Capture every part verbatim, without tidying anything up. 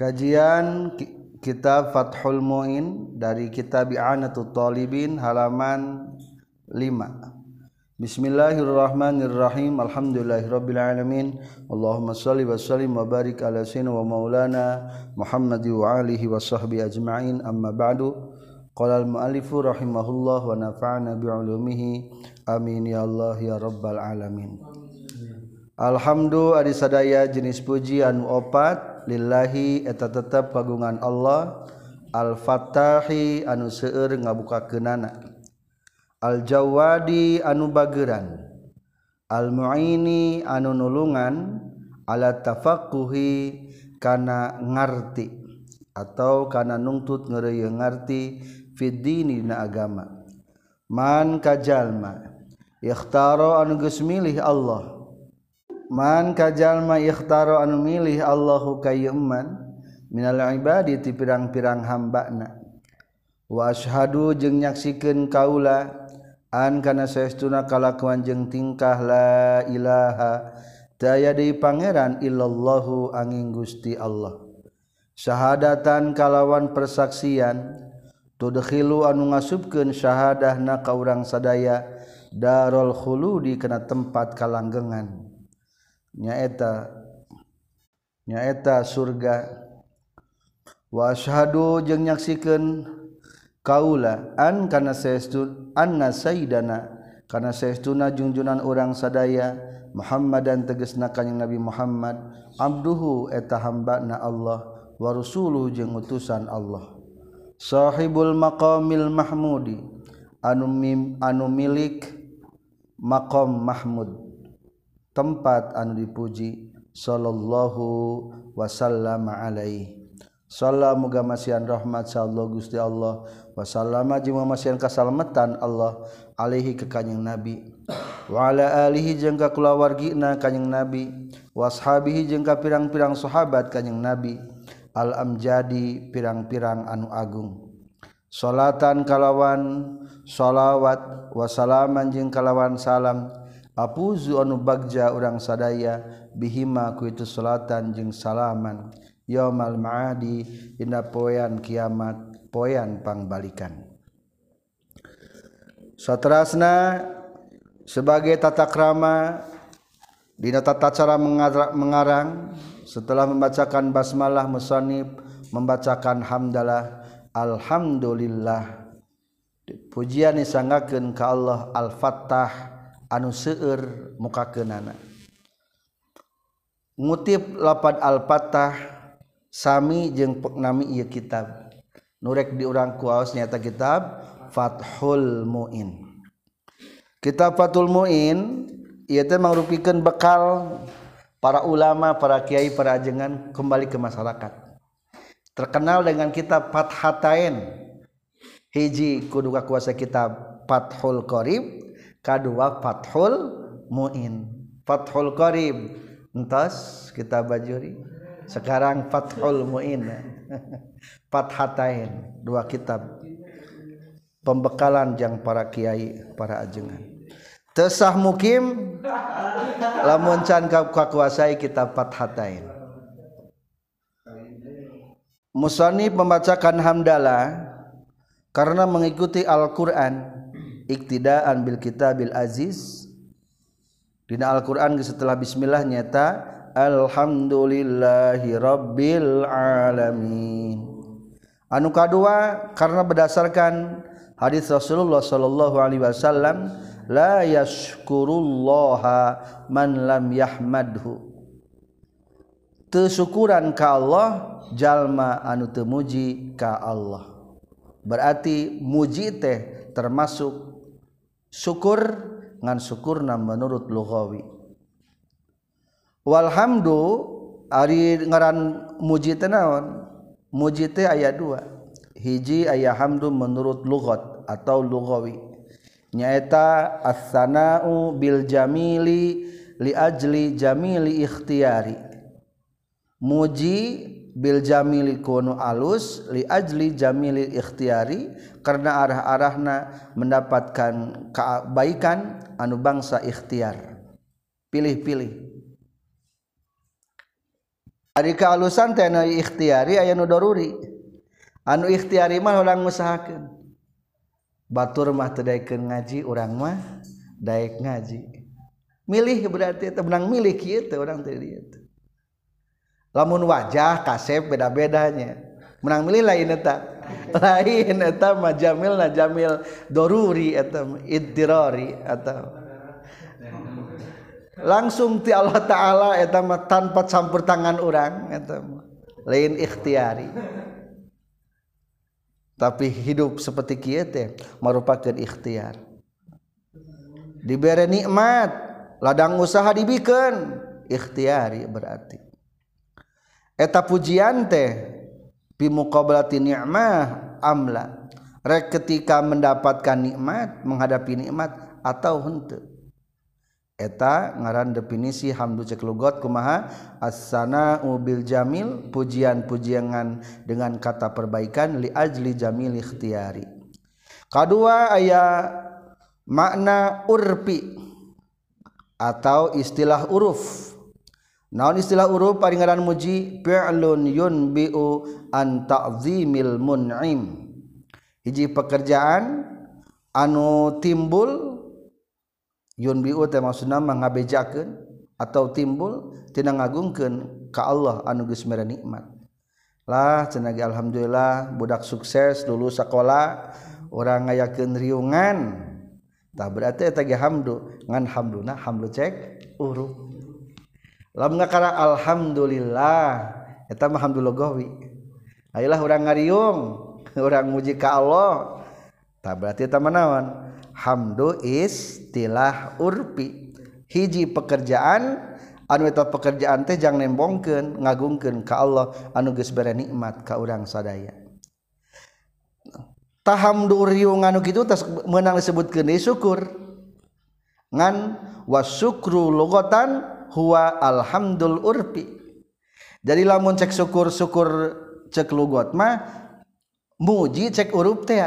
Kajian kitab Fathul Mu'in dari kitab I'anatul Talibin halaman lima. Bismillahirrahmanirrahim. Alhamdulillahirabbil alamin. Allahumma shalli wa sallim wa barik ala sayyidina wa maulana Muhammad wa alihi wa sahbihi ajma'in. Amma ba'du. Qala al-mu'allifu rahimahullah wa nafa'ana bi 'ulumihi. Amin ya Allah ya rabbal alamin. Alhamdulillah adi sadaya jenis puji anu opat lillahi eta tetep kagungan Allah al-fattahi anu seueur ngabukakeunana al-jawadi anu bageran al-mu'ini anu nulungan ala tafaqquhi kana ngarti atau kana nungtut ngeureuyeuh ngarti fid dini dina agama man kajalma ikhtaro anu geus milih Allah man kajalma ikhtaro anu milih Allahu kayeuman minal ibadi ti pirang-pirang hambana wa asyhadu jeung nyaksikeun kaula an kana saestuna kalakuan jeung tingkah la ilaha taya deui pangeran illallahu angin Gusti Allah syahadatan kalawan persaksian tudkhilu anu ngasupkeun syahadahna ka urang sadaya darul khuludi kana tempat kalanggengan nyaeta nyaeta surga wa asyhadu jeung nyaksikeun kaula an kana saestun anna sayyidana kana saestuna junjunan urang sadaya Muhammadan tegasna kanjing Nabi Muhammad abduhu eta hambana Allah wa rasuluhu jeung utusan Allah sahibul maqamil mahmudi anu mim, anu milik maqam mahmud tempat anu dipuji sallallahu wasallama alaihi sallam muga masihan rahmat sallallahu Gusti Allah wasallama jeung masihan kasalamatan Allah alaihi ka kanjing Nabi wa ala alihi jeung ka kulawargina kanjing Nabi washabihi jeung ka pirang-pirang sahabat kanjing Nabi al amjadi pirang-pirang anu agung salatan kalawan shalawat wasalaman jeung kalawan salam apuzu anu bagja urang sadaya bihima ku itu salatan jeung salaman yaumal ma'adi dina poean kiamat poean pangbalikan. Saterasna sebagai tata krama dina tata cara mengarang setelah membacakan basmalah musannif membacakan hamdalah alhamdulillah pujian disanggakeun ka Allah al-fattah anu seueur mukakeunana ngutip lapad al-fattah sami jeung nami ieu kitab nurek diurang kuaos nyaeta kitab Fathul Mu'in. Kitab Fathul Mu'in ieu teh mangrupikeun bekal para ulama, para kiai, para ajengan kembali ke masyarakat. Terkenal dengan kitab Fathatain. Hiji kudu kakuasa kitab Fathul Qarib, kadua Fathul Mu'in. Fathul Qarib entos kitab Bajuri, sekarang Fathul Mu'in. Fathatain, dua kitab pembekalan jang para kiai, para ajengan. Teu sah mukim lamun can kakuasai kitab Fathatain. Musannif membacakan hamdalah karena mengikuti Al-Qur'an iktidaan bil kitabil aziz. Dina Al-Qur'an setelah bismillah nyata alhamdulillahi rabbil alamin. Anu kadua karena berdasarkan hadis Rasulullah sallallahu alaihi wasallam la yashkurullaha man lam yahmadhu. Teu syukuran ka Allah jalma anu teu muji ka Allah. Berarti muji teh termasuk syukur ngan syukurna menurut lughawi. Walhamdu ari ngaran muji teh naon? Muji teh aya dua. Hiji aya hamdu menurut lughat atau lughawi. Nyaeta as-sana'u bil jamili li ajli jamili ikhtiyari. Muji bil jamili kunu alus li ajli jamili ikhtiyari karena arah-arahna mendapatkan kebaikan anu bangsa ikhtiar. Pilih-pilih. Ari kaalusan teh anu ikhtiari aya nu daruri. Anu ikhtiari mah urang ngusahakeun. Batur mah teu daekeun ngaji, urang mah daek ngaji. Milih berarti teu menang milih kieu teh urang teh dieu. Lamun wajah kasep beda-bedanya. Menang milih lain eta. Lain eta mah jamilna jamil daruri eta iddirari atau langsung ti Allah Ta'ala eta mah tanpa campur tangan urang eta mah lain ikhtiari. Tapi hidup seperti kieu teh merupakan ikhtiar. Dibere nikmat, ladang usaha dibikeun, ikhtiari berarti. Eta pujian teh bi muqabalati ni'mah amla. Rek ketika mendapatkan nikmat, menghadapi nikmat atau henteu. Eta ngaran definisi hamdu cek lugot kumaha as-sana'u bil jamil, pujian-pujian dengan kata perbaikan li ajli jamil ikhtiyari. Kadua aya makna urfi atau istilah uruf. Naon istilah uruf ari ngaran muji fi'lun yunbi'u an ta'zimil mun'im. Hiji pekerjaan anu timbul yunbi'u teh maksudna ngabejakeun atau timbul tina ngagungkeun ka Allah anu geus mere nikmat. Lah cenah ge alhamdulillah budak sukses lulus sakola urang ngayakeun riungan. Tah berarti eta ge hamdu ngan hamduna hamdu cek uruf. Lamun ngakara alhamdulillah eta mah hamdu lugawi. Ayolah urang ngariung, urang muji ka Allah. Tah berarti eta mah naon? Hamdu istilah urfi. Hiji pekerjaan anu eta pekerjaan teh jang nembongkeun ngagungkeun ka Allah anu geus bere nikmat ka urang sadaya. Tah hamdu riung anu kitu teh meunang disebutkeun deui syukur. Ngan wasyukru lugatan huwa alhamdul urfi. Jadi lamun cek syukur-syukur cek lugot mah muji cek uruf teh.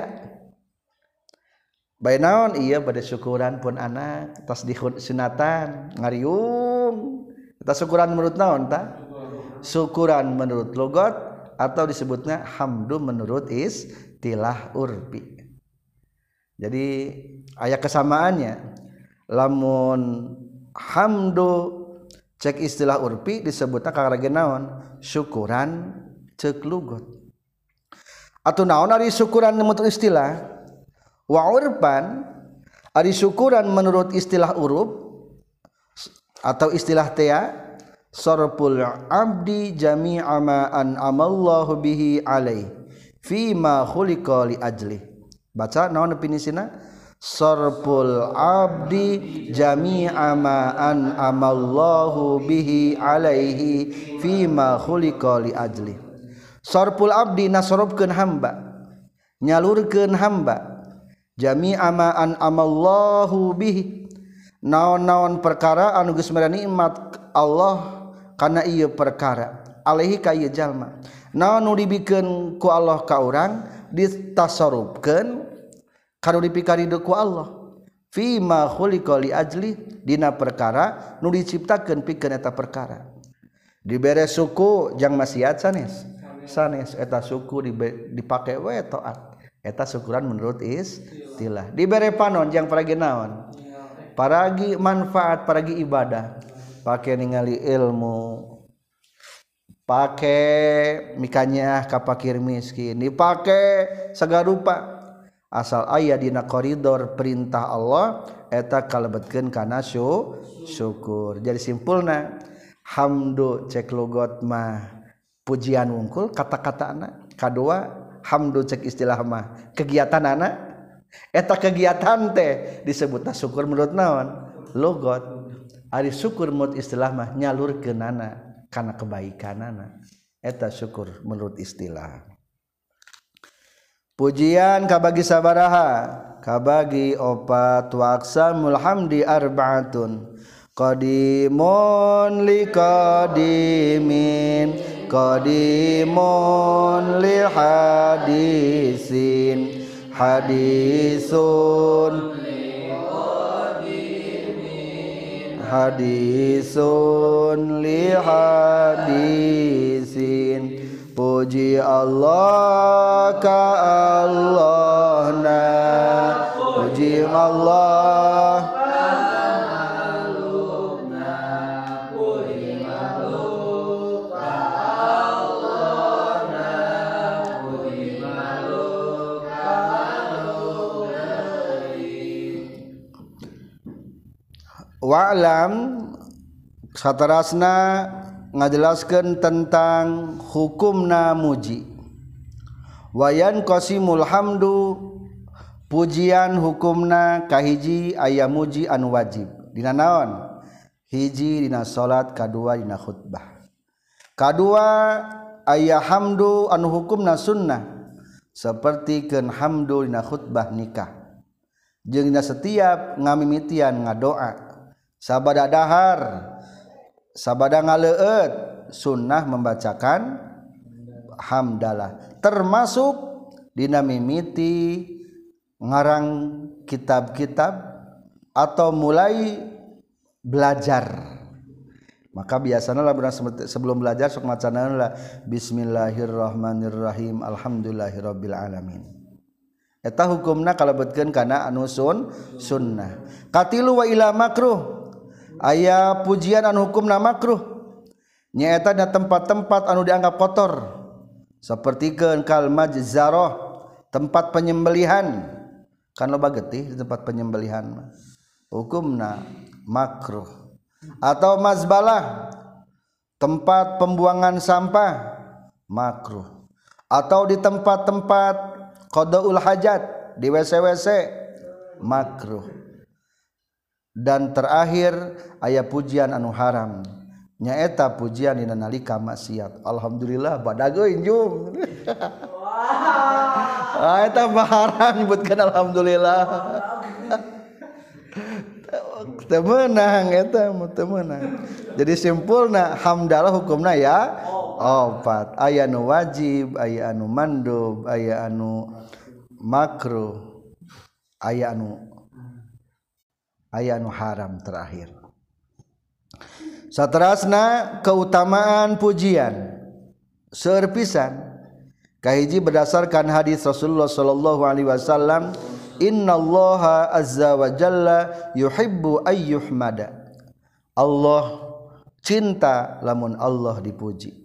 Bae naon ieu bade syukuran pun anak tos disunatan ngariung. Eta syukuran menurut naon ta? Syukuran menurut lugot atau disebutnya hamdu menurut istilah urfi. Jadi aya kesamaannya. Lamun hamdu cek istilah urfi disebutna karage naon? Syukuran cek lugot. Atuh naon ari syukuran menurut istilah? Wa urban ari syukuran menurut istilah uruf atau istilah tea sarful abdi jami'a ma an'amallahu bihi alaihi fi ma khuliqa li ajli. Baca naon definisina? Sarful abdi jami'a ma an'amallahu bihi alaihi fi ma khuliqa li ajli. Sarful abdi nasrofkeun hamba, nyalurkeun hamba jami'a ma an'amallahu bihi, naon-naon perkara anu geus mere nikmat Allah kana ieu perkara alaihi ka ieu jalma. Naon nu dibikeun ku Allah ka urang ditasarrufkeun kana dipikaridu ku Allah fi ma khuliqa li ajli, dina perkara nu diciptakeun pikeun eta perkara. Dibere suku jang maksiat sanes sanes eta suku dipake we taat. Eta syukuran menurut istilah. Dibere panon jang paragi naon? Paragi manfaat, paragi ibadah. Pake ningali ilmu, pake mikanya ka fakir miskin, dipake sagarupa. Asal aya dina koridor perintah Allah eta kalebetkeun kana syukur. Jadi simpulna hamdu cek lugot mah pujian wungkul kata-katana. Kadua hamdu cek istilah mah kegiatan anak eta kegiatan teh disebutna syukur menurut naon? Lugot. Ari syukur menurut istilah mah nyalurkeunana kana kebaikanana. Eta syukur menurut istilah. Pujian kabagi sabaraha? Kabagi opat wa aqsamul hamdi arba'atun. Qadimun li qadimin, qadimun li hadisin, hadisun li qadimin, hadisun li hadisin puji Allah ka Allahna puji Allah wa'lam saterasna ngajelaskeun tentang hukumna muji wayan qasimul hamdu pujian hukumna kahiji aya muji anu wajib dina naon hiji dina salat kadua dina khutbah kadua aya hamdu anu hukumna sunnah sapertikeun hamdu dina khutbah nikah jeung dina setiap ngamimitian ngadoa sabada dahar sabada ngaleueut sunnah membacakan hamdalah termasuk dina mimiti ngarang kitab-kitab atau mulai belajar maka biasana lah sebelum belajar sok macana lah bismillahirrahmanirrahim alhamdulillahirabbil alamin eta hukumna kalebetkeun kana anu sun sunnah katilu wa ila makruh aya pujian anu hukumna makruh nyaeta da tempat-tempat anu dianggap kotor sapertikeun kal majzarah tempat penyembelihan kan loba getih di tempat penyembelihan mah hukumna makruh atau mazbalah tempat pembuangan sampah makruh atau di tempat-tempat qadaul hajat di W C-W C makruh dan terakhir aya pujian anu haram nyaeta pujian dina nalika maksiat alhamdulillah badag euy jung ah eta haram nyebutkeun alhamdulillah teu meunang eta teu meunang jadi simpulna hamdalah hukumna ya opat aya anu wajib aya anu mandub aya anu makruh aya anu aya anu haram terakhir saterasna keutamaan pujian seueur pisan kahiji berdasarkan hadis Rasulullah sallallahu alaihi wasallam innallaha azza wa jalla yuhibbu ayyuhmada Allah cinta lamun Allah dipuji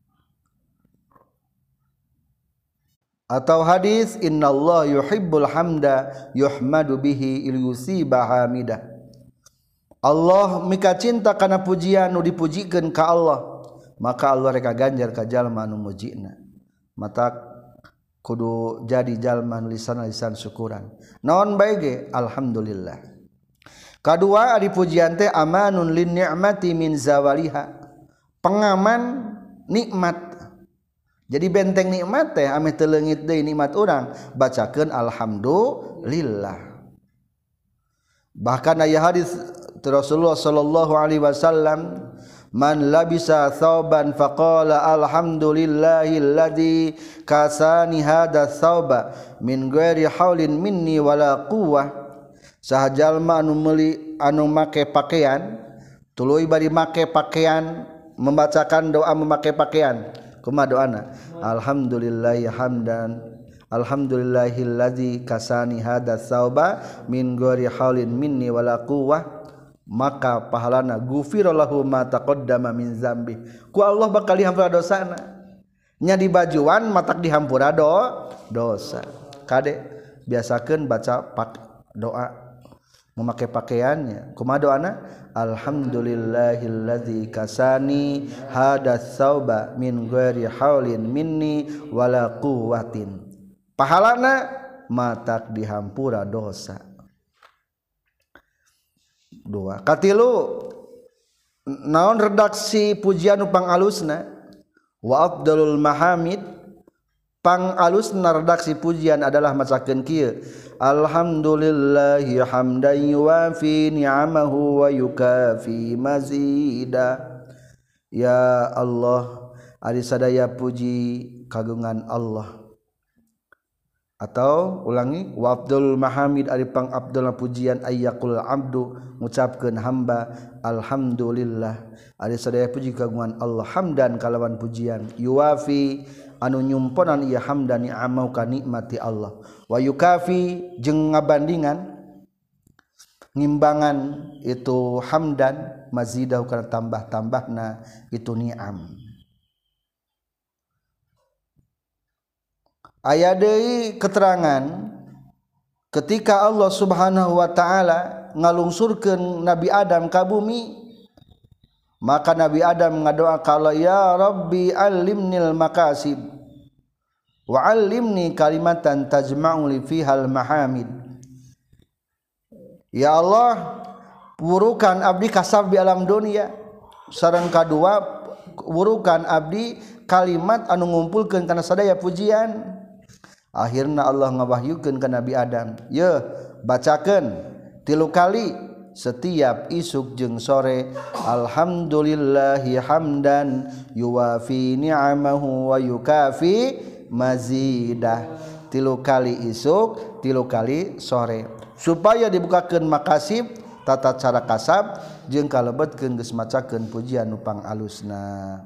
atau hadis innallaha yuhibbul hamda yuhmadu bihi ilyusiba hamidah Allah mika cinta kana pujian nu dipujikeun ka Allah maka Allah reka ganjar ka jalma nu mujina mata kudu jadi jalma lisan-lisan syukuran naon bae ge alhamdulillah kadua ari pujian teh amanun lin ni'mati min zawaliha pengaman nikmat jadi benteng nikmat teh ame teu leungit deui nikmat urang bacakeun alhamdulillah bahkan aya hadis Rasulullah sallallahu alaihi wasallam man labisa thawban faqala alhamdulillahilladzi kasani hadza thawba min ghairi haulin minni wala quwwah saha jalma anu meuli anu make pakaian tuluy bari make pakaian membacakan doa memakai pakaian kumaha doana alhamdulillahi hamdan alhamdulillahilladzi kasani hadza thawba min ghairi haulin minni wala quwwah maka pahalana ghufira lahu ma taqaddama min zambi ku Allah bakal dihampura dosana nya di bajuan matak dihampura do dosa kade biasakeun baca pak doa memakai pakaiannya kumaha doana alhamdulillahilladzi kasani hadas sauba min ghairi haulin minni wala quwwatin pahalana matak dihampura dosa dua katilu naon redaksi pujian upang alusna wa afdalul mahamid pang alusna redaksi pujian adalah macakeun kieu alhamdulillahi hamdan yuwafi ni'amahu wa yukafi mazida ya Allah ari sadaya puji kagungan Allah atau ulangi wa abdul mahamid ari pang abdul pujian ayyakul abdu ngucapkeun hamba alhamdulillah ari sadaya puji kagungan Allah hamdan kalawan pujian yuwafi anu nyumponan ieu hamdan ni'amau ka nikmati Allah wa yukafi jeung ngabandingan ngimbangan itu hamdan mazidahu kana tambah-tambahna itu ni'am. Aya deui keterangan ketika Allah Subhanahu wa taala ngalungsurkeun Nabi Adam ka bumi maka Nabi Adam ngadoa ka Allah ya Rabbi allimnil makasib wa allimni kalimatan tajma'u li fihal mahamid. Ya Allah wurukan abdi kasab di alam dunia sareng kadua wurukan abdi kalimat anu ngumpulkeun kana sadaya pujian. Akhirna Allah ngawahyukeun ka Nabi Adam, "Ye, bacakeun tilu kali setiap isuk jeung sore alhamdulillahi hamdan yuwafi ni'amahu wa yukafi mazidah." Tilu kali isuk, tilu kali sore. Supaya dibukakeun makasib tata cara kasab jeung kalebetkeun geus macakeun pujian nu pangalusna.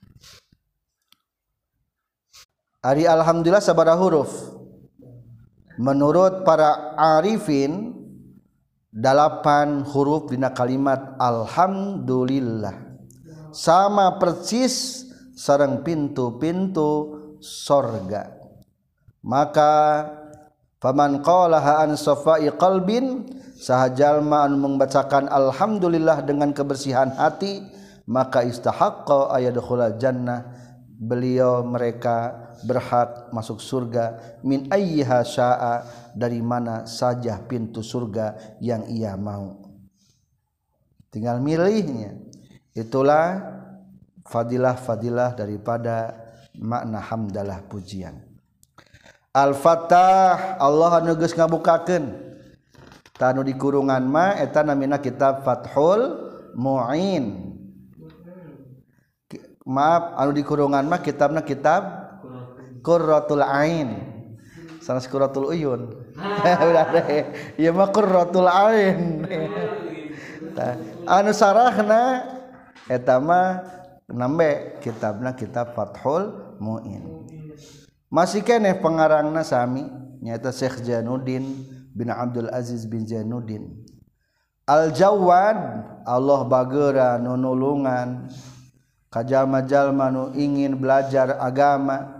Ari alhamdulillah sabaraha huruf? Menurut para arifin delapan huruf dina kalimat alhamdulillah sama persis sareng pintu-pintu sorga. Maka faman qalaha an safai qalbin saha jalma anu membacakan alhamdulillah dengan kebersihan hati maka istahaqqa ayadkhulal jannah beliau mereka berhak masuk surga min ayyiha syaa dari mana saja pintu surga yang ia mau tinggal milihnya. Itulah fadilah-fadilah daripada makna hamdalah pujian. Al-Fattah Allah anu geus ngabukakeun tanu di kurungan mah eta namina kitab Fathul Mu'in. Maaf anu di kurungan mah kitabna kitab Qurratul Ain. Sanes Qurratul Uyun. Udah deh. Ieu mah Qurratul Ain. Anu sarahna eta mah nambe kitabna kitab Fathul Mu'in. Masih keneh pengarangna sami nyaeta Syekh Jainuddin bin Abdul Aziz bin Jainuddin. Al-Jawad Allah bageura nu nulungan ka jalma-jalma nu ingin belajar agama.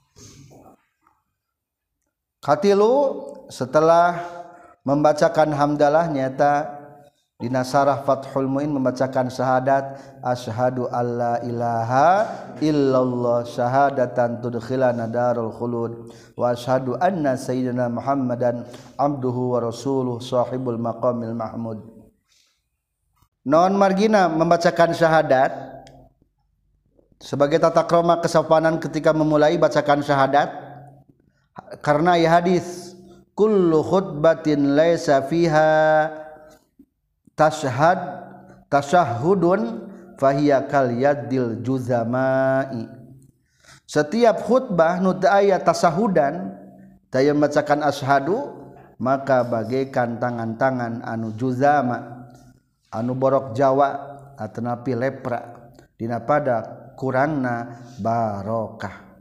Katilu setelah membacakan hamdalah nyata dina sarah Fathul Mu'in membacakan syahadat asyhadu alla ilaha illallah syahadatan tudkhilana darul khulud wa asyhadu anna sayyidina Muhammadan abduhu wa rasuluh sahibul maqamil mahmud. Non margina membacakan syahadat sebagai tata krama kesopanan ketika memulai bacakan syahadat. Karena ya hadis kullu khutbatin laisa fiha tashhad tashahhudun fahiya kal yaddil juzamai. Setiap khutbah nu teu aya tasahudan teu membacakan asyhadu maka bagaikan tangan-tangan anu juzama anu borok Jawa atanapi lepra dina pada kurangna barokah.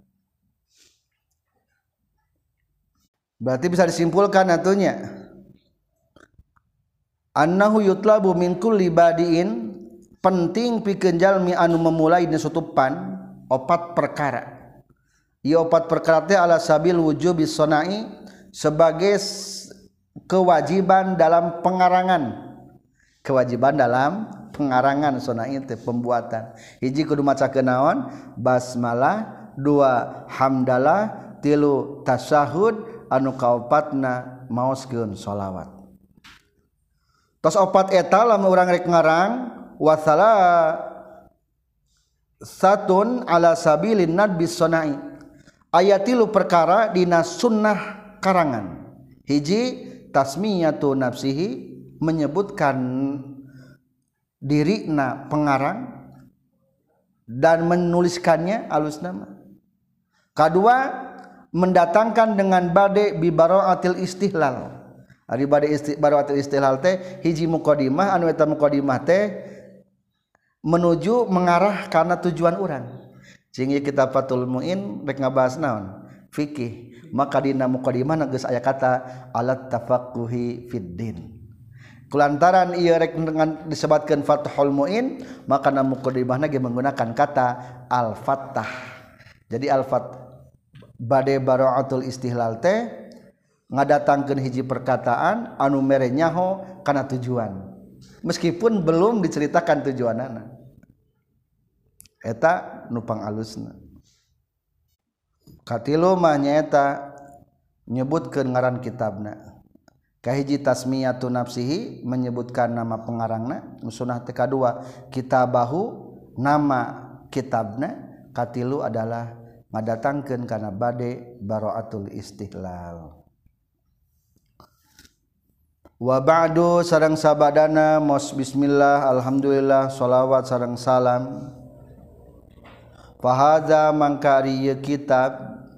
Berarti bisa disimpulkan atunya annahu yutlabu min kulli badiin penting pikeun jalmi anu memulai dina sutupan opat perkara. Ieu opat perkara teh ala sabil wujubi sonai sebagai kewajiban dalam pengarangan. Kewajiban dalam pengarangan sonai teh pembuatan. Hiji kudu macakeun naon? Basmalah, dua hamdalah, tilu tasyahud anu kaopatna maoskeun sholawat. Tos opat eta lamun urang rek ngarang wasala satun ala sabilin nadbi sonai aya tilu perkara dina sunnah karangan. Hiji tasmiyatu nafsihi menyebutkan dirina pengarang dan menuliskannya alus nama. Kedua mendatangkan dengan bade bi baraatil istihlal. Ari bade isti, baraatil istihlal teh hiji muqaddimah anu eta muqaddimah teh menuju mengarah karena tujuan urang. Jeung ieu kitab Fathul Muin rek ngabahas naon? Fikih. Maka dina muqaddimah geus aya kata alat tafaqquhi fid din. Kulantaran ieu rek disebutkeun Fathul Muin, maka na muqaddimahna ge menggunakan kata al-fattah. Jadi al-fattah bade baraatul istihlal teh ngadatangkeun hiji perkataan anu mere nyaho kana tujuan meskipun belum diceritakan tujuanana eta nu pangalusna. Katilu mah nyaeta nyebutkeun ngaran kitabna. Kahiji tasmiyatu nafsihi menyebutkan nama pengarangna, sunah teh kadua kitabahu nama kitabna, katilu adalah ngadatangkeun kana bade baraatul istihlal. Wa ba'du sareng sabadana mos bismillah alhamdulillah shalawat sareng salam. Fa hadza mangka ari kitab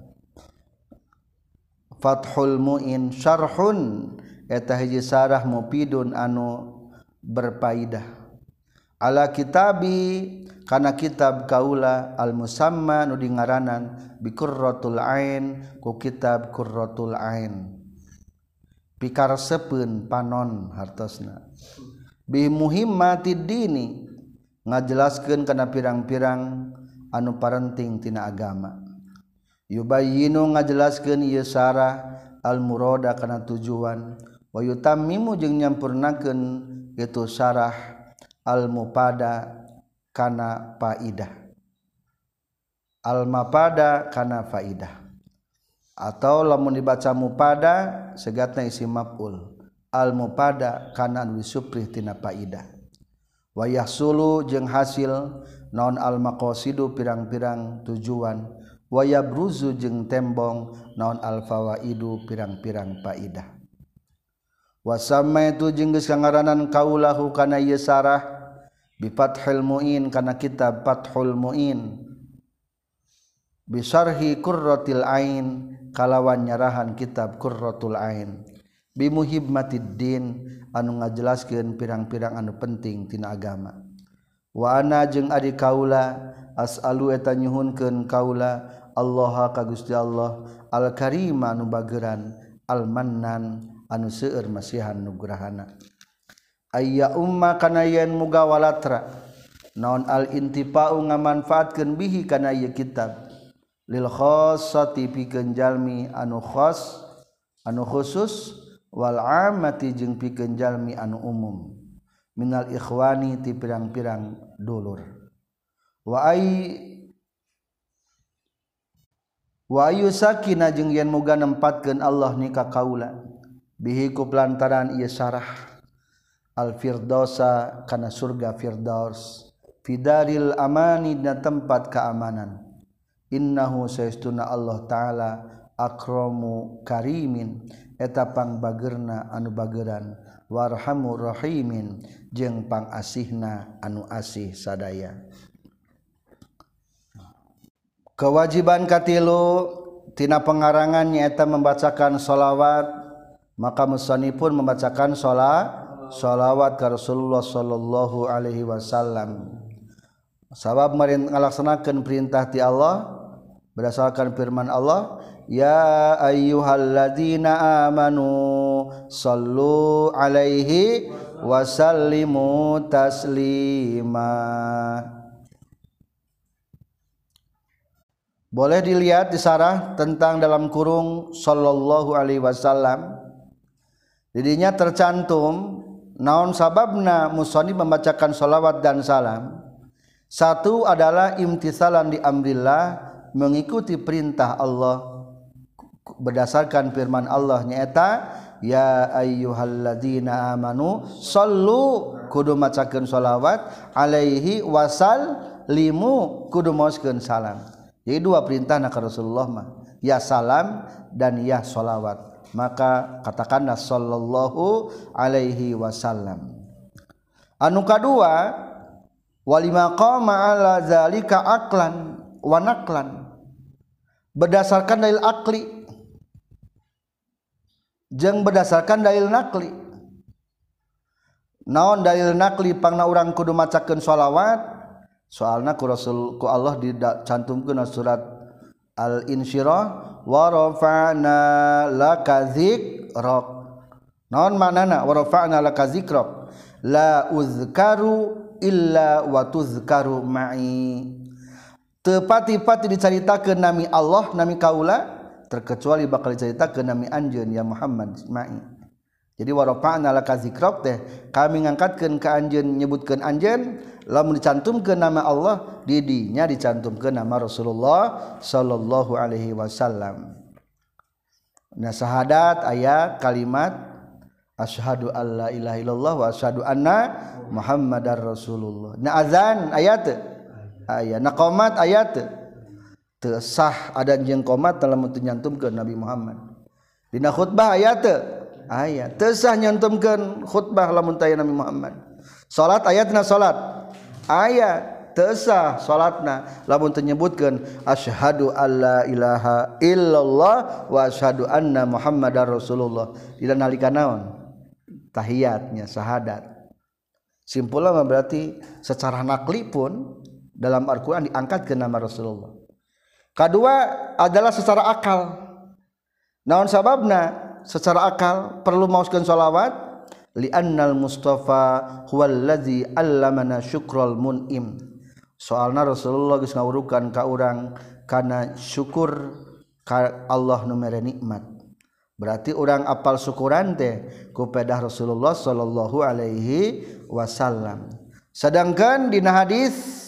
Fathul Muin syarhun eta hiji sarah mufidun anu berfaidah ala kitabi kana kitab kaula al musamma nu dingaranan bi Qurratul Ain ku kitab Qurratul Ain pikarsepeun panon hartosna bi muhimmatid dini ngajelaskeun kana pirang-pirang anu parenting tina agama yubayyinu ngajelaskeun ieu sarah al murada kana tujuan wa yutammimu jeung nyampurnakeun itu sarah al mupada kana faidah al mapada kana faidah atau lamun dibaca mupada segatna isim maf'ul al mupada kana anu disuprih tina faidah wa yahsulu jeung hasil naon al maqasidu pirang-pirang tujuan wa yabruzu jeung tembong naon al fawaidu pirang-pirang faidah wa samaitu jeung geus ngaranan kaulahu kana ieu sarah bi Fathul Muin kana kitab Fathul Muin bi syarhi Qurratil Ain kalawan nyarahan kitab Qurratul Ain bi muhimmatid din anu ngajelaskeun pirang-pirang anu penting tina agama wa ana jeung ari kaula as'alu eta nyuhunkeun kaula Allah ka Gusti Allah al karim anu bageran al mannan anu seueur masihan nugrahana ayya umma kana yen muga walatra naon al intifa'u ngamanfaatkeun bihi kana ieu kitab lil khassati pikeun jalmi anu khas anu khusus wal ammati jeung pikeun jalmi anu umum minal ikhwani ti pirang-pirang dulur wa ay wa yusakina jeung yen muga nempatkeun Allah ni ka kaula bihi ku lantaran ieu sarah al firdausa kana surga firdaus fidaril amani na tempat keamanan innahu saestuna Allah taala akramu karimin eta pangbageurna anu bageran warhamur rahimin jeung pangasihna anu asih sadaya. Kewajiban katilu tina pengarangan nyaeta membacakan sholawat, maka musannifun membacakan sholat sholawat ka Rasulullah sallallahu alaihi wasallam sabab meureun ngalaksanakeun perintah ti Allah berdasarkan firman Allah ya ayyuhalladzina amanu sallu alaihi wasallimu taslima. Boleh dilihat di sarah tentang dalam kurung sallallahu alaihi wasallam. Didinya tercantum naon sababna musannif membacakan sholawat dan salam. Satu adalah imtithalan di amrillah, mengikuti perintah Allah berdasarkan firman Allah nyaeta ya ayyuhalladzina amanu sallu kudu macakeun sholawat alaihi wasallimu kudu maoskeun salam. Jadi dua perintah nak Rasulullah mah ya salam dan ya sholawat, maka katakanlah sallallahu alaihi wasallam. Anu kadua walima qama ala zalika aqlan wa naqlan berdasarkan dalil akli jeung berdasarkan dalil nakli. Naon dalil nakli pangna urang kudu macakeun shalawat soalna ku Rasul ku Allah dicantumkeun surat Al-Insyirah wa rafa'na laka dzikrak. Naon maknana wa rafa'na laka dzikrak? La uzkaru illa wa tuzkaru ma'i. Teu pati-pati dicaritakeun nami Allah nami kaula terkecuali bakal diceritakeun nami anjeun ya Muhammad ma'i. Jadi wa rafa'na laka dzikrak teh kami ngangkatkeun ka anjeun nyebutkeun anjeun lamun dicantumkeun nama Allah di dinya dicantumkeun nama Rasulullah sallallahu alaihi wasallam. Nah syahadat aya kalimat asyhadu alla ilaha illallah wa asyhadu anna muhammadar rasulullah. Nah azan aya teu? Aya. Nah qomat aya teu? Teu sah adan jeung qomat lamun teu nyantumkeun Nabi Muhammad. Dina khutbah aya teu? Aya. Teu sah nyantumkeun khutbah lamun teu aya Nabi Muhammad. Salat aya teu salat? Aya. Teu sah salatna lamun teu nyebutkeun asyhadu alla ilaha illallah wa asyhadu anna muhammadar rasulullah. Dina nalika naon? Tahiyatnya syahadat. Simpulna berarti secara nakli pun dalam Al-Qur'an diangkat ke nama Rasulullah. Kedua adalah secara akal. Naon sababna? Secara akal perlu maoskeun shalawat li'annal mustafa huwallazi allamana syukral mun'im. Soalna Rasulullah geus ngawurukan ka urang kana syukur ka Allah nu mere nikmat. Berarti urang apal syukuran teh ku pedah Rasulullah sallallahu alaihi wasallam. Sedangkan dina hadis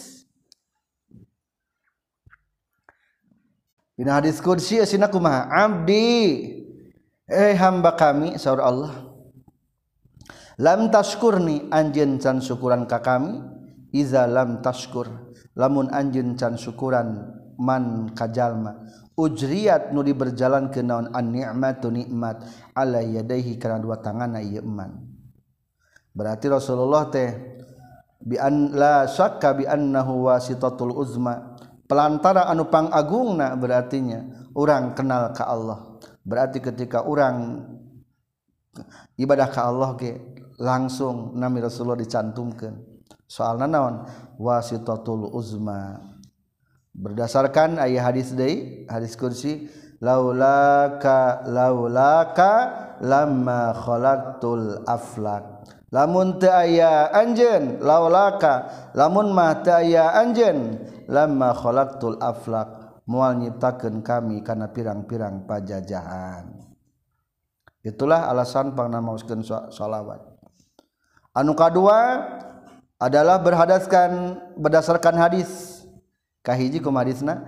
dina hadis qudsi asina kumaha? Abdi eh hamba kami saur Allah lam tashkurni anjeun can syukuran ka kami iza lam tashkur lamun anjeun can syukuran man kajalma ujriyat nu diberjalan ke naon an ni'matu nikmat ala yadaihi kana dua tanganna ieu eman. Berarti Rasulullah teh bi an la syakka bi annahu wasitatul uzma pelantara anu pangagungna berartinya urang kenal ka Allah. Berarti ketika orang ibadah ka Allah ke langsung nami Rasulullah dicantumkeun. Soalna naon? Wasitatul uzma. Berdasarkan ayat hadis deui, hadis kursi, laulaka laulaka lamma khalaqtul aflak. Lamun teu aya anjeun, laulaka lamun mah teu aya anjeun, lamma khalaqtul aflak. Moal nyiptakeun kami kana pirang-pirang pajajahan. Itulah alasan pangna maoskeun shalawat. Anu kadua adalah berhadaskan berdasarkan hadis. Kahiji kumaha hadisna?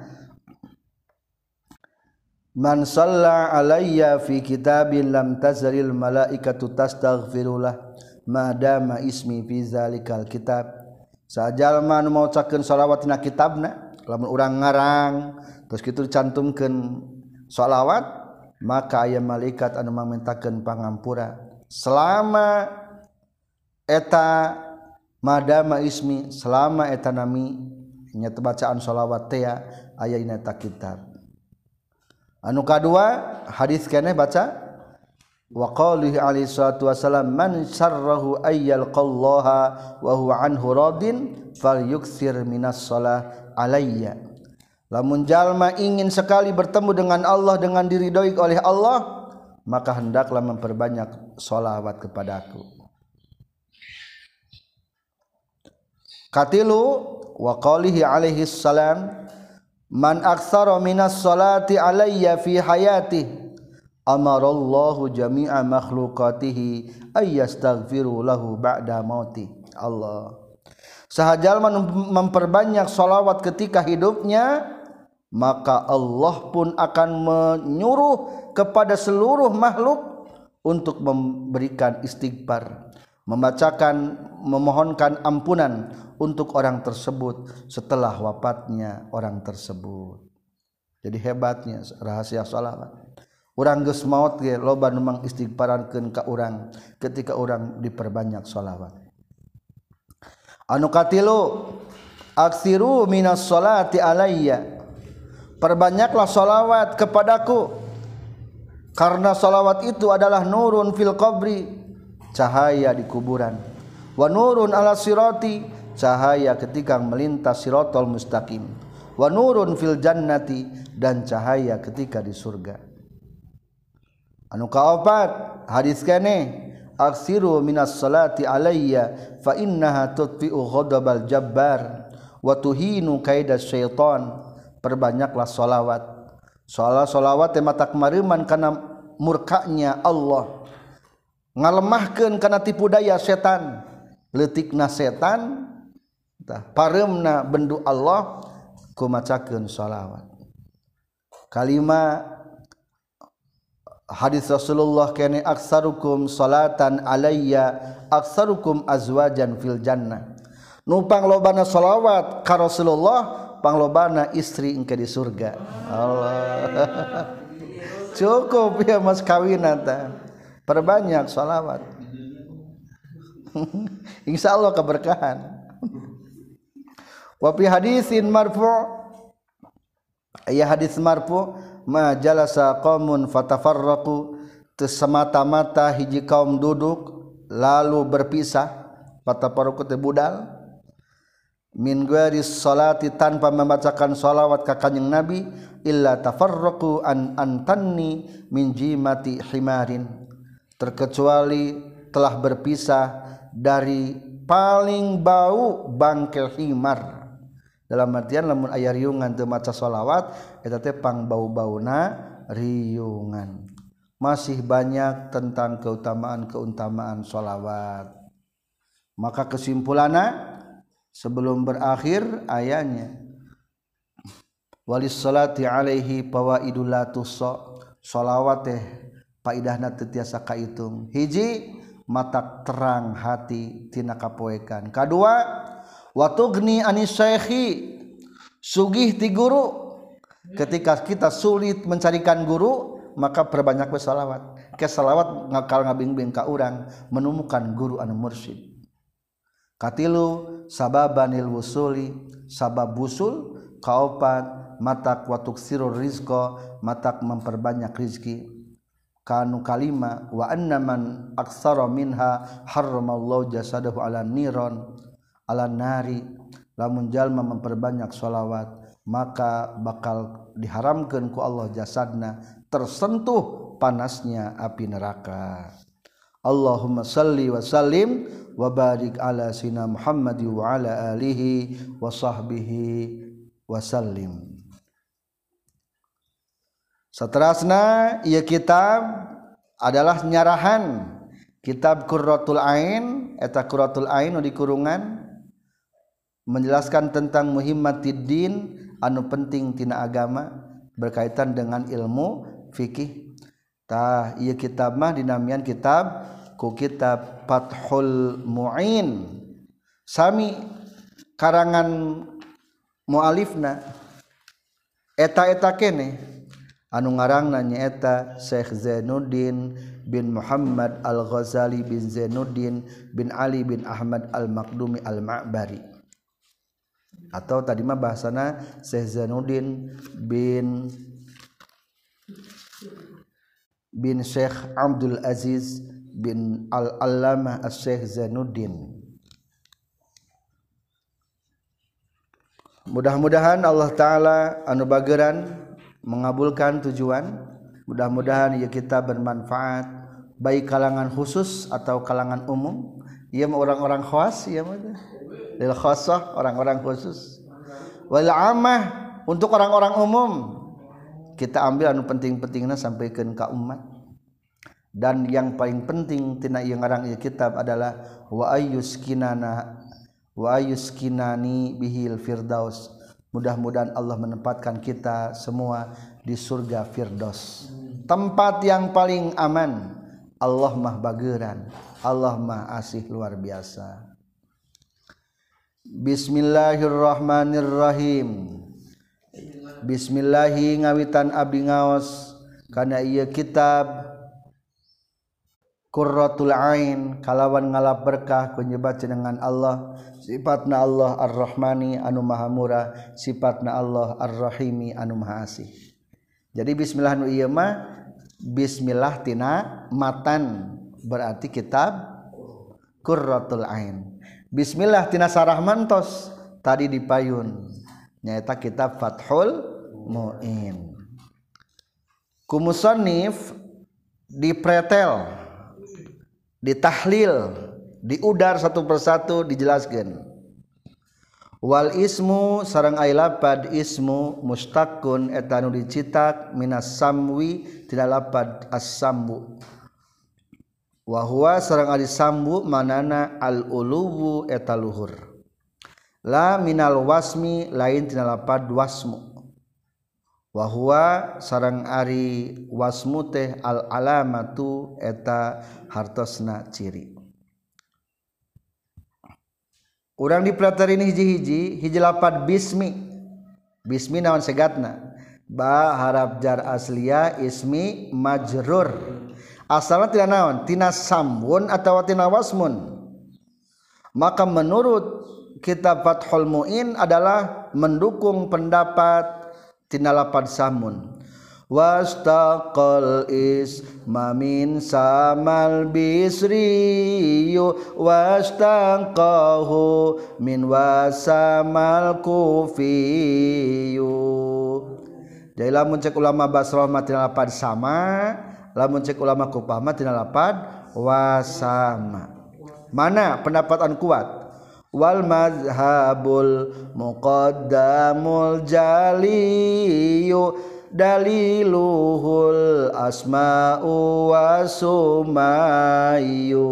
Man shalla alayya fi kitabin lam tazalil malaikatu tastaghfirulah ma dama ismi fi zalikal kitab. Sajalma anu maocakeun shalawat dina kitabna, lamun urang ngarang terus kitu dicantumkeun shalawat, maka aya malaikat anu mamentakeun pangampura selama eta madama ismi, selama eta nami nya bacaan shalawat teh aya dina eta kitab. Anu kadua hadis keneh baca wa qalihi alaihi salatu wasalam man syarrahu ayyalqallaha wa huwa anhu radin falyukthir minas shalah alayya. Lamun jalma ingin sekali bertemu dengan Allah dengan diridhoi oleh Allah, maka hendaklah memperbanyak sholawat kepadaku. Katilu wa qalihi alaihi salam man aktsara minas sholati alayya fi hayati amarallahu jami'a makhluqatihi ayyastaghfiru lahu ba'da mauti. Allah sahajalma memperbanyak sholawat ketika hidupnya, maka Allah pun akan menyuruh kepada seluruh makhluk untuk memberikan istighfar, membacakan, memohonkan ampunan untuk orang tersebut setelah wafatnya orang tersebut. Jadi hebatnya rahasia sholawat. Urang geus maot ge loba nu mangistighfarankeun ka urang ketika urang diperbanyak sholawat. Anu katilu aksiru minas sholati alayya perbanyaklah sholawat kepadaku, karena sholawat itu adalah nurun fil qabri, cahaya di kuburan, wa nurun ala sirati, cahaya ketika melintas siratal mustaqim, wa nurun fil jannati, dan cahaya ketika di surga. Anu kaopat hadis keneh, aksiru minas salati alayya fa innaha tutfi'u ghadabal jabbar wa tuhinu kaidas syaitan. Perbanyaklah sholawat. Soalnya sholawat teh matak mariman kana murkanya Allah, ngalemahkeun kana tipu daya setan, leutikna setan tah pareumna bendu Allah kumacakeun sholawat. Kalima hadis Rasulullah kene, aksarukum salatan alayya aksarukum azwajan fil jannah. Numpang lobana sholawat ka Rasulullah, panglobana istri engke di surga. Allah. Cukup ya mas kawinan teh. Perbanyak sholawat. Insyaallah keberkahan. Wa fi hadisin marfu', ya hadis marfu', ma jalasa qaumun fatafarraqu, semata-mata hiji kaum duduk lalu berpisah, fatafarraqu teh budal, min ghairi salati, tanpa membacakan salawat ka kanjing Nabi, illa tafarraqu an antanni min jimati himarin, terkecuali telah berpisah dari paling bau bangkel himar. Dalam artian lamun aya riungan teu maca salawat eta teh pang bau-bauna riungan. Masih banyak tentang keutamaan-keutamaan salawat. Maka kesimpulanna sebelum berakhir ayatnya, walis salati alaihi fawaidul la tuhsa, sholawat teh faidahna teu tiasa kahitung. Hiji, matak terang hati tina kapoekan. Kadua, wa tughni anis syaikhi, sugih ti guru. Ketika kita sulit mencarikan guru, maka perbanyak we sholawat. Ke sholawat ngakal ngabing-bing ka urang menemukan guru anu mursyid. Katilu sababanil wusuli, sabab wusul. Kaopat matak watuk sirur rizqo, matak memperbanyak rizki. Kanu kalima wa anna man aksara minha harramallahu jasadahu ala niron ala nari. Lamun jalma memperbanyak sholawat, maka bakal diharamkan ku Allah jasadna tersentuh panasnya api neraka. Allahumma salli wa sallim wa barik ala sina Muhammad wa ala alihi wa sahbihi wa sallim. Saterasna ieu kitab adalah nyarahan kitab Qurratul Ain, eta Qurratul Ain nu dikurungan menjelaskan tentang muhimmatiddin, anu penting tina agama berkaitan dengan ilmu fikih. Tah ieu kitab mah dinamian kitab ku kitab Fathul Mu'in, sami karangan mualifna eta-eta kene anu ngarangna nyaeta Syekh Zainuddin bin Muhammad Al-Ghazali bin Zainuddin bin Ali bin Ahmad Al-Maqdumi Al-Ma'bari, atau tadi mah bahasana Syekh Zainuddin bin bin Syekh Abdul Aziz bin Al-Allamah Syekh Zainuddin. Mudah-mudahan Allah Ta'ala anu bageran mengabulkan tujuan. Mudah-mudahan ieu kitab bermanfaat baik kalangan khusus atau kalangan umum. Ieu mah orang-orang khas, ieu mah lil khassah, orang-orang khusus. Wal ammah, untuk orang-orang umum. Kita ambil anu penting-pentingna sampaikeun ka umat. Dan yang paling penting tina ieu ngarang ieu kitab adalah wa ayyuskinana wa ayyuskinani bihil firdaus. Mudah-mudahan Allah menempatkan kita semua di surga Firdaus, tempat yang paling aman. Allah mah bageran, Allah mah asih luar biasa. Bismillahirrahmanirrahim. Bismillahi ngawitan abdi ngaos kana ieu kitab qurratul ain kalawan ngalap berkah kunyebat jenengan Allah sifatna Allah ar-rahmani anu maha murah sifatna Allah ar-rahimi anu maha asih. Jadi bismillah nu ieu mah bismillah tina matan berarti kitab qurratul ain. Bismillah tina sarah mantos tadi dipayun nyaeta kitab Fathul Muin. Ku musannif dipretel, ditahlil, diudar satu persatu dijelaskan. Wal ismu sareng aya lapad ismu mustaqun eta nu dicitak minas samwi tina lapad as-sambu. Wa huwa sareng ari sambu manana al uluwu eta luhur. La minal wasmi lain tina lapad wasmu. Wa huwa sareng ari wasmu teh al alamatu eta hartosna ciri. Urang dipelatarin hiji-hiji hiji lapad bismi. Bismi naon segatna? Ba harap jar asliya ismi majrur. Asalna tina naon? Tina sambun atawa tina wasmun. Maka menurut kitab Fathul Muin adalah mendukung pendapat tina lapad samun. Wastaqal isma min samal bisriyu wastaqahu min wasamal kufiyu. Jadi lamun cek ulama Basrah mah tina lapad sama, lamun cek ulama Kufah mah tina lapad wasama. Mana pendapat an kuat? Wal mazhabul muqaddamul jaliyu daliluhul asma'u wasumayu.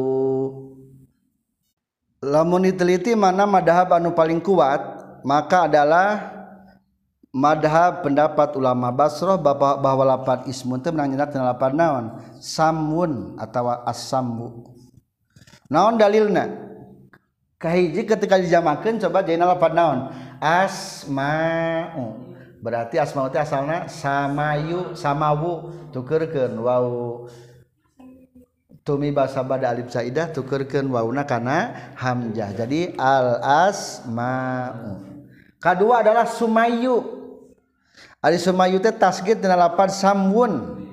Lamun diteliti mana madhab anu paling kuat maka adalah madhab pendapat ulama Basrah bahwa lapad ismun teh menang nyenak tina lapad naon samun atawa as-sambu. Naon dalilna? Kahiji ketika dijamakeun coba jadi lapad naon asma'u berarti asma'u teh asalna samayu samawu tukeurkeun waw tumi basa bada alif saidah tukeurkeun wawna kana hamzah jadi al asma'u. Kadua adalah sumayu. Ari sumayu teh tasghir tina lapad samwun.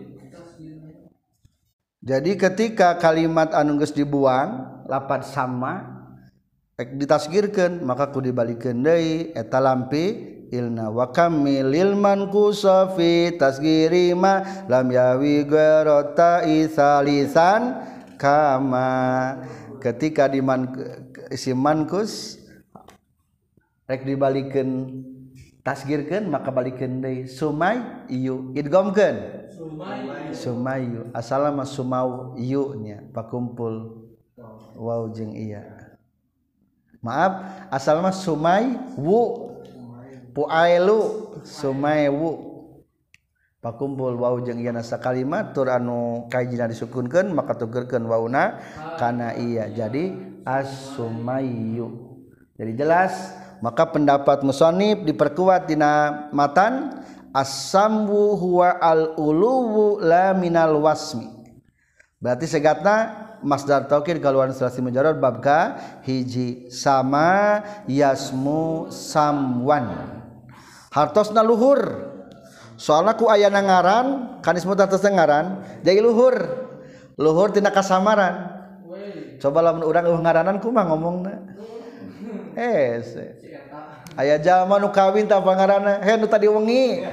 Jadi ketika kalimat anu geus dibuang lapad sama ditasgirkeun maka kudu dibalikeun deui eta lampi ilna wa kamilil manqusa fi tasgiri ma lam yawi gharata isalisan kama. Ketika di man isim manqus rek dibalikeun tasgirkeun maka balikeun deui sumay iyu idghamkeun sumayu asalna sumau iyu nya pakumpul waw jeung iya. Maaf asalnya sumai wu puailu sumai wu pakumpul waw jeung ieu nasa kalimat tur anu kajina disukunkeun maka tukeurkeun wawna kana iya jadi as-sumayyu. Jadi jelas maka pendapat musannif diperkuat dina matan as-samwu huwa al-uluwu la minal wasmi. Berarti segatna masdar taukid galuan selasi mujarrad bab ka hiji sama yasmu samwan hartosna luhur soalna ku aya ngaran kan ismu tatos ngaran jadi luhur luhur tina kasamaran. Coba lamun urang eueuh ngaranan kumaha ngomongna eh aya jalma nu kawin tah pangaranna he nu tadi wengi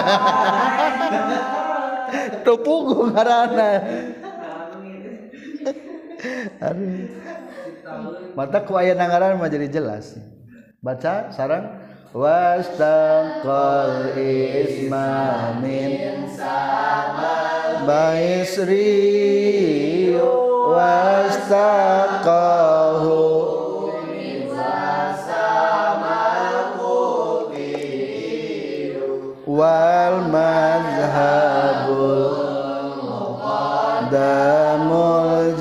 teu puguh ngaranna. Aduh. Mata ku aya nangaran mah jadi jelas. Baca sareng wastaqal isma min samal baisri wastaqahu min wasamal kufi wal madhhabul muqaddamul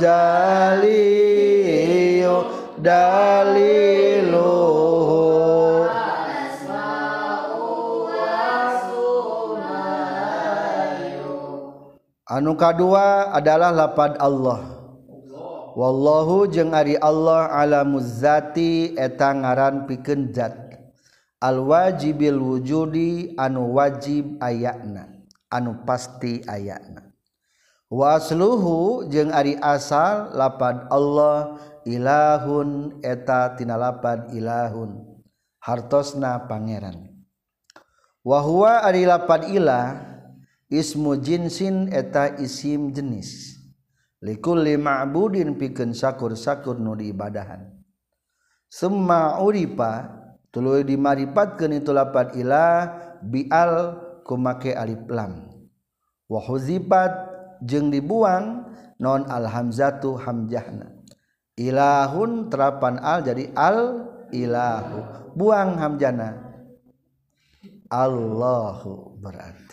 jaliyu daliluhu anu kadua adalah lapad Allah wallahu jeung ari Allah alamuz zati eta ngaran pikeun zat al wajibil wujudi anu wajib ayana anu pasti ayana wa asluhu jeung ari asal lapad Allah ilahun eta tina lapad ilahun hartosna pangeran wa huwa ari lapad ilah ismu jinsin eta isim jenis likulli ma'budin pikeun sakur-sakur nu diibadahan summa uripa tuluy dimaripatkeun itu lapad ilah bial kumake alif lam wa huzifat jeung dibuang non al hamzatu hamzahna ilahun terapan al jadi al ilahu buang hamzana Allahu berarti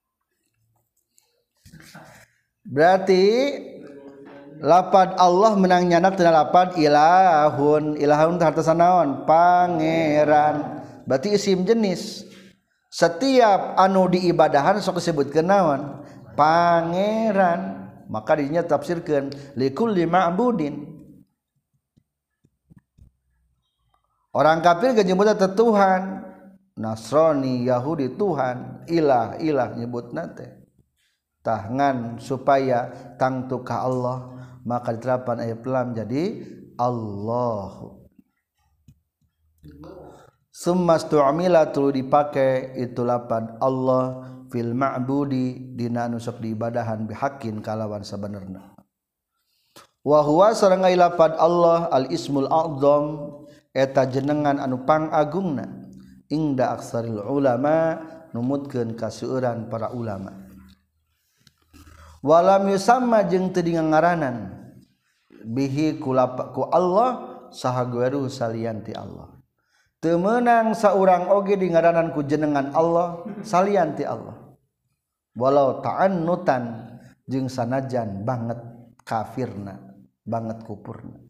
berarti lapad Allah menang nyanak tina lapad ilahun ilahun hartosan naon pangeran berarti isim jenis setiap anu diibadahan sok disebutkeun naon pangeran maka dinya tafsirkeun likulli ma'budin orang kafir ge nyebutna Tuhan Nasrani Yahudi Tuhan ilah ilah nyebutna teh tangan supaya tangtu ka Allah maka diterapan ayat lam jadi Allahu summa stu'mila tulu dipake itu lapad Allah fil ma'budi dina anu sok diibadahan bihaqqin kalawan sabenerna wa huwa sareng lapad Allah al ismul a'dzam eta jenengan anu pangagungna ingda aksaril ulama numutkeun kaseueuran para ulama walam yusamma jeung teu ngaranan bihi ku Allah saha gueru salian ti Allah teu meunang saurang oge di ngaranan ku jenengan Allah salian ti Allah walau ta'annutan jeung sanajan banget kafirna banget kupurna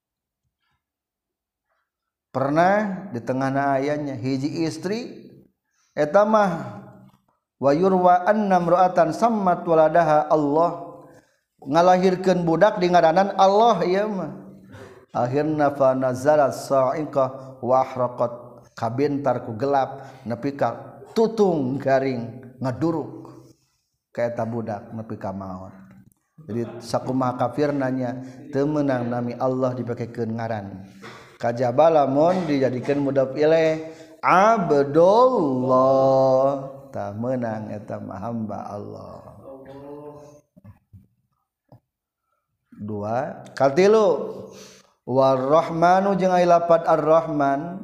pernah di tengahna ayatnya hiji istri eta mah wa yurwa anna imra'atan sammat waladaha Allah ngalahirkeun budak di ngaranan Allah ieu mah akhirna fa nazalat sa'iqah wa ahraqat kabentar ku gelap nepi ka tutung garing ngaduruk ka eta budak nepi ka maot jadi sakumaha kafirna nya teu meunang nami Allah dipakekeun ngaran kajaba lamun dijadikeun mudhof ilaih abdullah tak menang eta hamba Allah dua katilu warrahmanu jeung aya lapad arrahman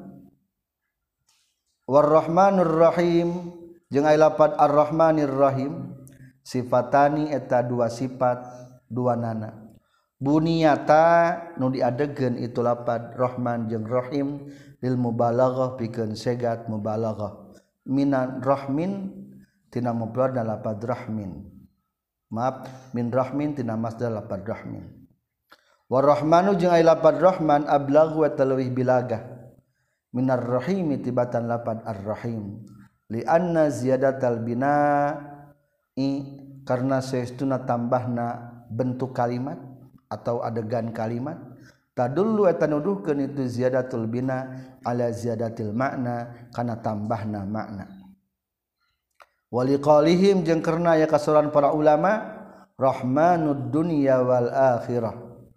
warrahmanur rahim jeung aya lapad arrahmanir rahim sifatani eta dua sifat dua nana buniyata nu diadegeun itu lapad rahman jeung rahim lil mubalaghah pikeun segat mubalaghah minan rahmin tina mufrad lapad rahmin maaf min rahmin tina masdar lapad rahmin warrahmanu jeung aya lapad rahman ablaghu wa talwih bilagah minar rahimi tibatan lapad arrahim li anna ziyadatal bina'i karna saestuna tambahna bentuk kalimat atau adegan kalimat tadullu eta nuduhkeun itu ziyadatul bina ala ziyadatil makna kana tambahna makna waliqalihim jeung karna aya kasoran para ulama rahmanud dunya wal akhirah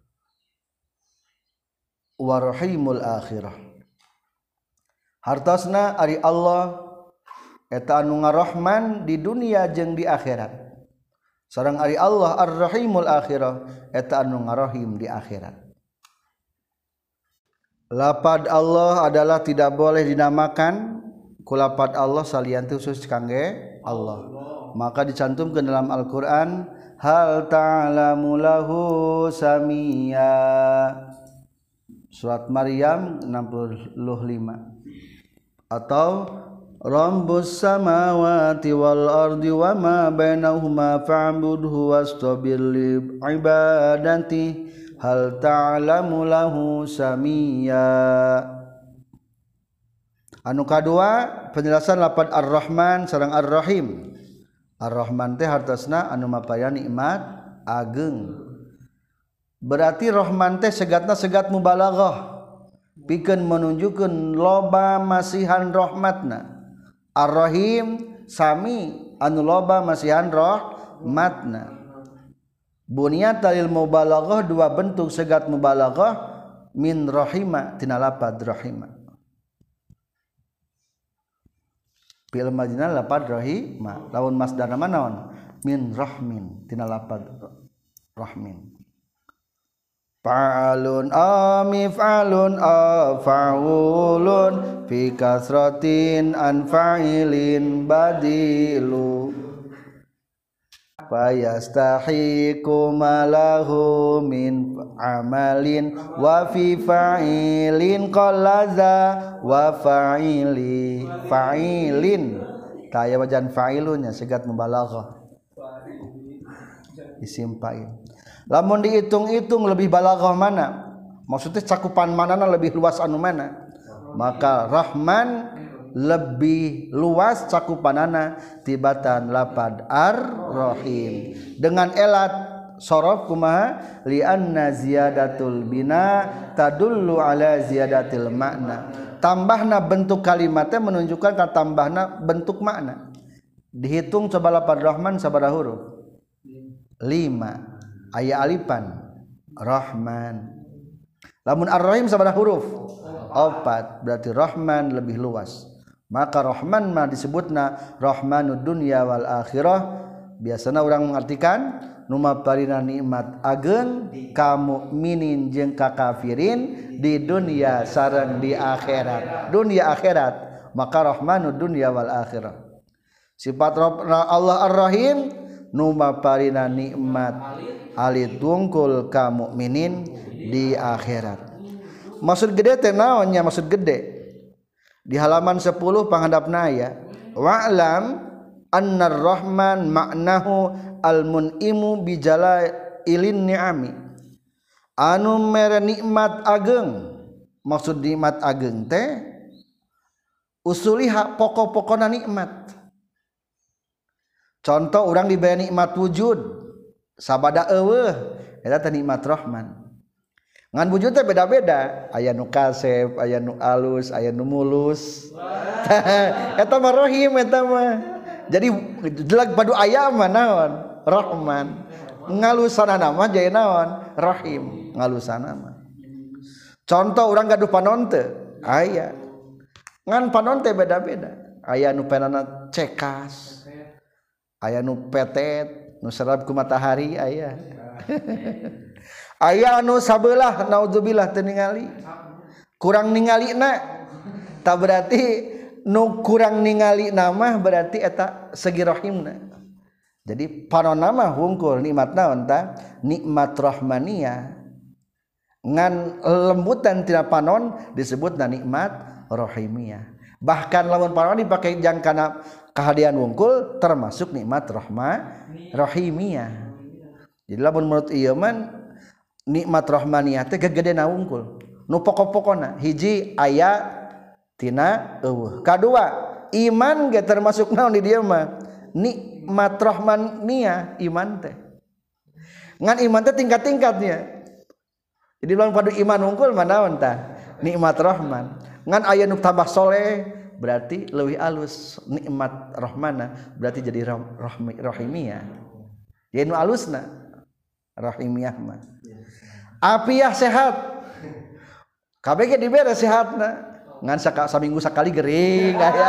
warahimul akhirah hartosna ari Allah eta anu ngarahman di dunia jeung di akhirat sareng ari Allah ar-rahimul akhirah eta anu ngarahim di akhirat. Lapad Allah adalah tidak boleh dinamakan ku lapad Allah salian khusus kangge Allah. Maka dicantumkan dalam Al-Qur'an hal ta'lamu lahu samia. Surat Maryam enam puluh lima. Atau Rabbus samawati wal ardi wa ma bainahuma fa'budhu wastabir li ibadati hal ta'lamu lahu samia. Anu kadua penjelasan lapad Ar-Rahman sareng Ar-Rahim. Ar-Rahman teh hartosna anu mapayan nikmat ageng. berarti Rahman teh segatna segat mubalaghah pikeun menunjukkeun loba masihan rahmatna. Ar-Rahim sami anu loba masihan rahmatna. Bunyat dalil mubalaghah dua bentuk segat mubalaghah min rahima tina lapad rahima. Fi'il madina lapad rahima lawan masdarna naon min rahmin tina lapad rahmin. Fa'alun amif'alun afa'ulun fi kasratin an fa'ilin badilu fayastahiqu malahu min amalin wa fi fa'ilin qallaza wa fa'ili fa'ilin kaya wajan fa'ilunnya segat mubalaghah isim fa'il. Lamun dihitung-hitung lebih balaghah mana? Maksudnya cakupan manana lebih luas anu mana? Maka Rahman lebih luas cakupanana tibatan lapad Ar-Rahim. Dengan elat sorof kumaha? Li'anna ziyadatul bina tadullu ala ziyadatil makna. Tambahna bentuk kalimatnya menunjukkan ka tambahna bentuk makna. Dihitung coba lapad Rahman sabaraha huruf? lima. Aya alifan Rahman. Lamun Ar-Rahim sabaraha huruf? Opat. Berarti Rahman lebih luas. Maka Rahman mah disebutna Rahmanud dunya wal akhirah. Biasana orang mengartikan nu maparina nikmat ageun ka mukminin jeung ka kafirin di dunia sareng di akhirat. Dunia akhirat maka Rahmanud dunya wal akhirah. Sifat Allah Ar-Rahim nu maparina nikmat alit wungkul ka mukminin di akhirat. Maksud gede teh naonnya maksud gede? Di halaman sepuluh panghandapna aya wa'lam annar rahman maknahu al-mun'imu bijalailin ni'ami anu mere nikmat ageng. Maksud nikmat ageng teh usuliha pokok-pokona nikmat. Contoh orang diberi nikmat wujud sabada eueuh eta teh nikmat Rahman. Ngan wujud teh beda-beda, aya nu kasep, aya nu alus, aya nu mulus. Eta mah Rahim eta mah. Jadi jelag padu aya mah naon? Rahman. Ngalusanana mah jaya naon? Rahim. Ngalusana mah. Contoh urang gaduh panon teu? Aya. Ngan panon teh beda-beda. Aya nu penana cekas. Aya nu petet, nu serab ku matahari aya. Aya anu sabelah naudzubillah teu ningali. Kurang ningalina tak berarti nu kurang ningali nama berarti eta segi rahimna. Jadi panon nama hungkul nikmat naon ta? Nikmat rahmaniyah. Ngan lembutan tina panon disebutna nikmat rahimiyah. Bahkan lamun panon dipake jang kana kahadian wungkul termasuk nikmat rahma rahimiyah. Jadi lamun menurut ieu man nikmat rahmaniyah teh gegedena wungkul. Nu pokok-pokona hiji aya tina eueuh. Kadua iman ge termasuk naon di dieu mah? Nikmat rahmaniyah iman teh. Ngan iman teh tingkat-tingkatnya. Jadi lamun padu iman wungkul mah naon tah? Nikmat rahman. Ngan aya nu tambah soleh berarti leuwih alus nikmat rahmana berarti jadi rahmi, rahimiyah. Ye nu alusna rahimiyah mah. Apiah sehat. Kabeh ge dibere sehatna. Ngan saka saminggu sakali gering aya.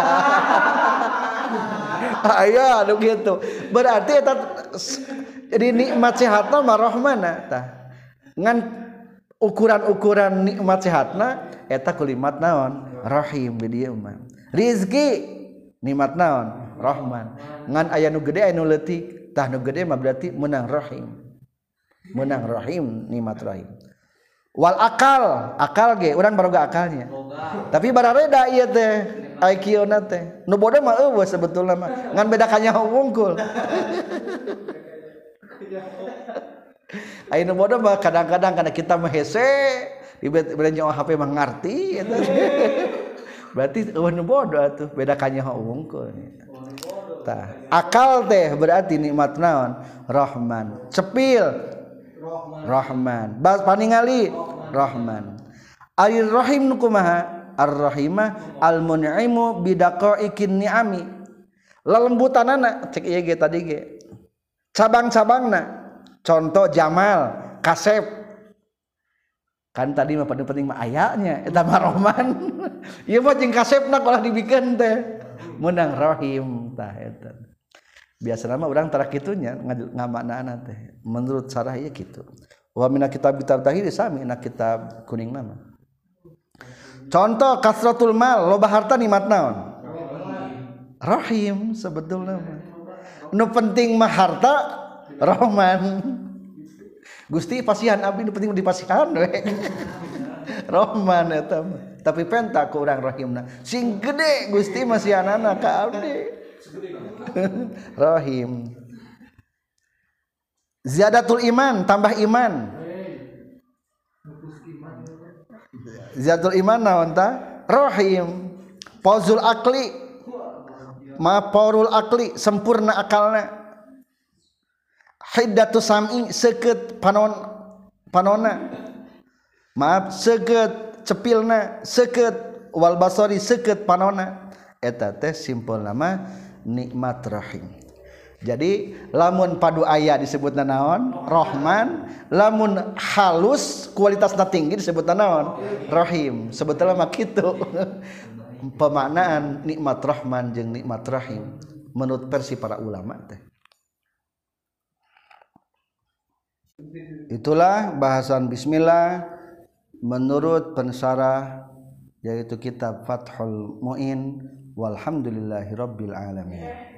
Aya anu kitu. Berarti eta jadi nikmat sehatna mah rahmana tah. Ngan ukuran-ukuran nikmat sehatna eta kulimat naon? Rahim di dieu mah. Rizki nikmat naon? Rahman. Ngan aya nu gede aya nu leutik, tah nu gede mah berarti menang rahim. Menang rahim nikmat rahim. Wal akal, akal ge urang baroga akalnya. Tapi barareda ieu teh I Q-na teh. Nu bodoh mah eueuh sebetulna mah. Ngan beda kanyaho wungkul. Aya nu bodoh mah kadang-kadang kana kita mah hese, dibere H P mah ngarti eta. Berarti eueuh nu bodoh atuh beda kanyaho wungkul. Tah, akal teh berarti nikmat naon? Rahman. Cepil Rahman bas paningali Rahman Ar Rahim nu kumaha Ar-Rahimah al-mun'imu bidaqaiqin ni'ami lelembutanana cek ieu ge tadi ge cabang-cabangna contoh Jamal Kasep kan tadi mah paling penting mah ayanya eta mah Rahman ieu mah jeung Kasepna kalau dibikeun teh menang Rahim tah eta biasana mah urang tara kitunya ngamaknaana teh menurut sarah ieu kitu wa mina kitab kitab tahiri sami na kitab kuning nama contoh kasratul mal loba harta nikmat naon Rahim sebetulna mah nu penting mah harta Rahman Gusti pasihan abdi nu penting dipasihan we Rahman eta mah tapi penta ku urang Rahimna sing gede Gusti masihanana ka abdi Rahim ziyadatul iman tambah iman ziyadatul iman naon ta Rahim pauzul akli ma paurul akli sempurna akalna hiddatu sam'i seukeut panon panonna maaf seukeut cepilna seukeut wal basari seukeut panonna eta teh simpulna mah nikmat Rahim. Jadi lamun padu aya disebutna naon Rahman, lamun halus kualitasna tinggi disebutna naon Rahim. Sebetulna mah kitu pemaknaan nikmat Rahman jeung nikmat Rahim menurut versi para ulama teh. Itulah bahasan bismillah menurut pensarah yaitu kitab Fathul Muin walhamdulillahirabbil alamin.